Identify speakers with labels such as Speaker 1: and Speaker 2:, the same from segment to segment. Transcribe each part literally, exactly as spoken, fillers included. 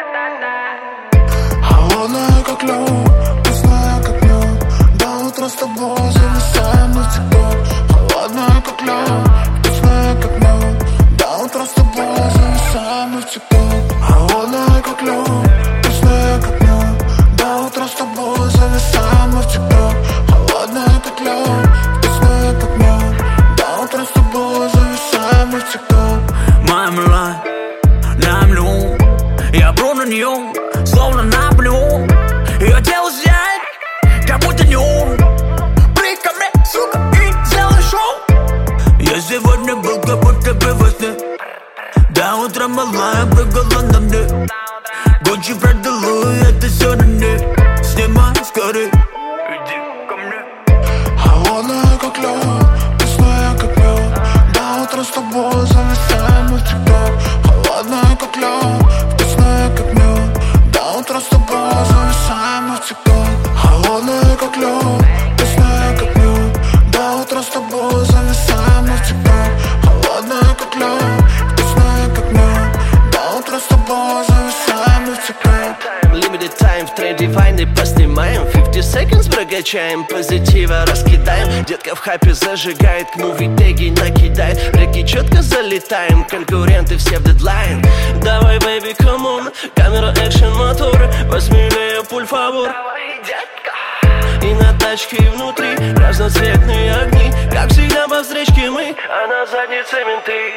Speaker 1: Холодная, как лед, вкусная, как мед. До утра с тобой зависаем навсегда. Холодная, как лед, вкусная, как мед. До утра с тобой зависаем навсегда. Холодная, как лед, вкусная, как мед. До утра с тобой зависаем навсегда. Холодная, как лед, вкусная, как мед. До утра с тобой зависаем навсегда.
Speaker 2: Моя мила, на миллион. Я бру на нее, словно Наполеон. Ее тело сияет, как будто неон. Приди ко мне, сука, и сделай шоу. Я сегодня был как будто бы во сне. До утра малая прыгала на мне. Гуччи продала, это все на мне. Снимай скорей, иди ко мне.
Speaker 1: Холодная, как лед, вкусная, как мед. До утра с тобой зависаем навсегда. Холодная, как лед, вкусная, как мед. До утра с тобой зависаем навсегда. Холодная, как лед, вкусная, как мед. До утра с тобой зависаем навсегда. Холодная, как лед, вкусная, как мед. До утра с тобой зависаем навсегда.
Speaker 3: Limited time, в тренде войны поснимаем. Fifty seconds прокачаем, позитива раскидаем. Детка в хайпе зажигает, к муви теги накидает. В реки четко залетаем, конкуренты все в дедлайн. Давай, baby, come on, камера, экшен, мотор. Посмелее, пуль, фавор. И на тачке внутри разноцветные огни. Как всегда по встречке мы, а на заднице менты.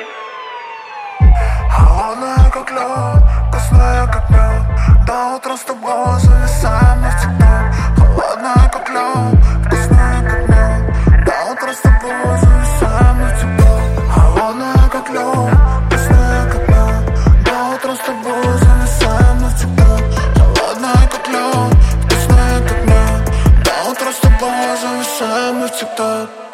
Speaker 1: Холодная, как лед, вкусная, как мед. До утра с тобой зависаем навсегда. Холодная, как лед, вкусная, как мед. До утра с тобой зависаем навсегда. Холодная, как лед, вкусная, как мед. До утра с тобой зависаем навсегда. Холодная, как лед, вкусная, как мед. До утра с тобой зависаем навсегда.